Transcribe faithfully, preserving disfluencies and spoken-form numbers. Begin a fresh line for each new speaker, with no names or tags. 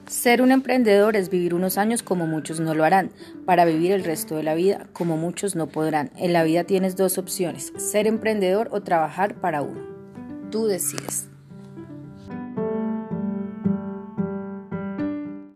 Ser un emprendedor es vivir unos años como muchos no lo harán, para vivir el resto de la vida como muchos no podrán. En la vida tienes dos opciones, ser emprendedor o trabajar para uno. Tú decides.